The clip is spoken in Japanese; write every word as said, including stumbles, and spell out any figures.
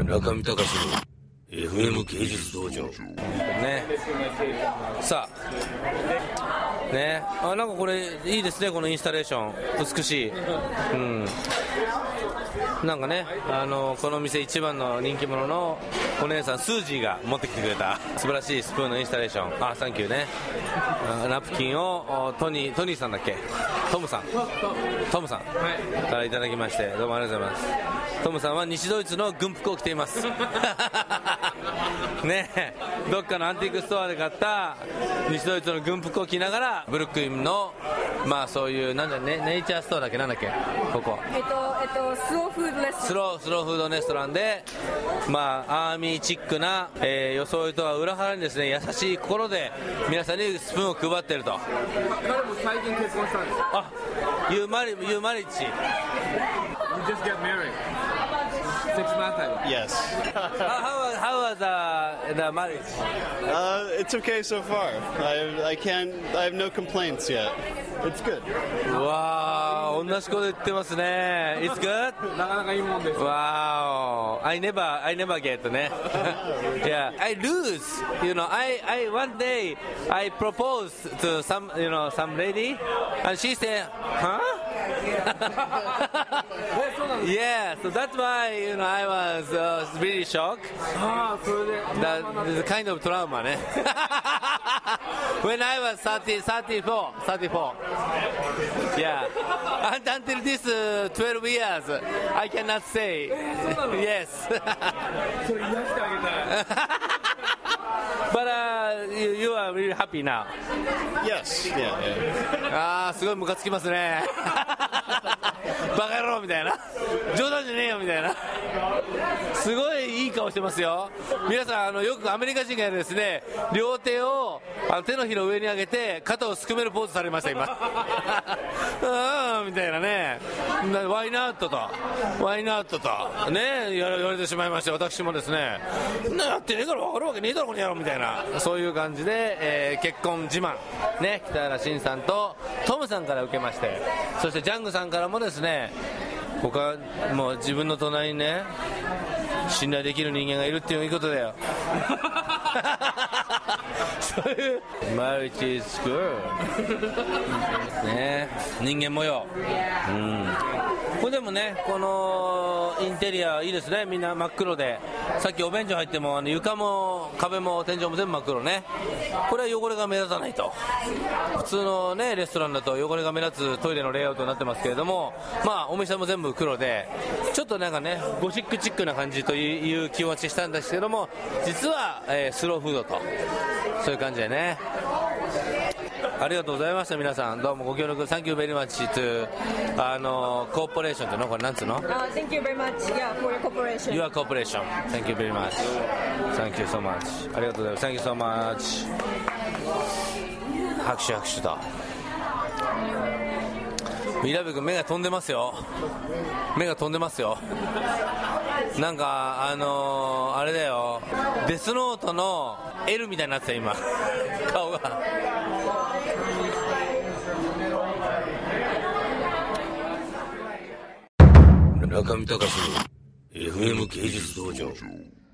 中見隆の エフエム 芸術道場ね。さあね、あ、なんかこれいいですね、このインスタレーション美しい。うん、なんかね、あのこの店一番の人気者のお姉さんスージーが持ってきてくれた素晴らしいスプーンのインスタレーション、あ、サンキューね。ナプキンをトニートニーさんだっけ、トムさんトムさんからいただきまして、どうもありがとうございます。トムさんは西ドイツの軍服を着ていますねえ、どっかのアンティークストアで買った西ドイツの軍服を着ながらブルックリンのまあそういうなんだ、ね、ネイチャーストアだっけ、なんだっけここ、 えっとえっとスローフードレストラン、 スロースローフードレストランで、まあアーミーチックな、えー、装いとは裏腹にですね、優しい心で皆さんにスプーンを配っていると。 彼も最近結婚したんです。 あ、You married, you married? You just get married six months ago. Yes. how, how was the, the marriage? Uh, it's okay so far. I I can't. I have no complaints yet. It's good. わー、同じこと言ってますね。It's good? なかなかいいもんです。 Wow, I never, I never get ね。Yeah, I lose. You know, I, I one day I proposed to some, you know, some lady, and she said, huh? Yeah, so that's why, you know, I was uh, really shocked. ああ、それで。 That is kind of trauma ね。When I was thirty, thirty-four, thirty-four. Yeah. And until this uh, twelve years, I cannot say. Yes. それ癒してあげたい。 But uh, you, you are really happy now. Yes. Yeah. Yeah. あー、すごいムカつきますね。バカ野郎みたいな、冗談じゃねえよみたいな、すごいいい顔してますよ。皆さん、あのよくアメリカ人がやるですね、両手をあの手のひらを上に上げて肩をすくめるポーズされました今。あーみたいなね、ワイナットとワイナットとね言われてしまいまして、私もですね、なやってねえから分かるわけねえだろこの野郎みたいな、そういう感じで、えー、結婚自慢ね、北原慎さんとトムさんから受けまして、そしてジャングさんからもですね、他もう自分の隣にね信頼できる人間がいるっていうことだよ。そういうマルチスクールね、人間模様、うん、これでもね、このインテリアいいですね、みんな真っ黒で、さっきお便所入ってもあの床も壁も天井も全部真っ黒ね。これは汚れが目立たないと。普通のねレストランだと汚れが目立つトイレのレイアウトになってますけれども、まあお店も全部黒で、ちょっとなんかねゴシックチックな感じという気持ちしたんですけども、実は、えー、スローフードとそういう感じでね。ありがとうございました。皆さんどうもご協力 Thank you very much to あのコーポレーションっていうの、これなんつうの、 uh, Thank you very much, yeah, for your cooperation. Your cooperation. Thank you very much. Thank you so much. ありがとうございます。 Thank you so much. 拍手拍手と。ミラベ君目が飛んでますよ。目が飛んでますよ。なんかあのー、あれだよ、デスノートの L みたいになってた今顔が。中見隆の エフエム 芸術道場。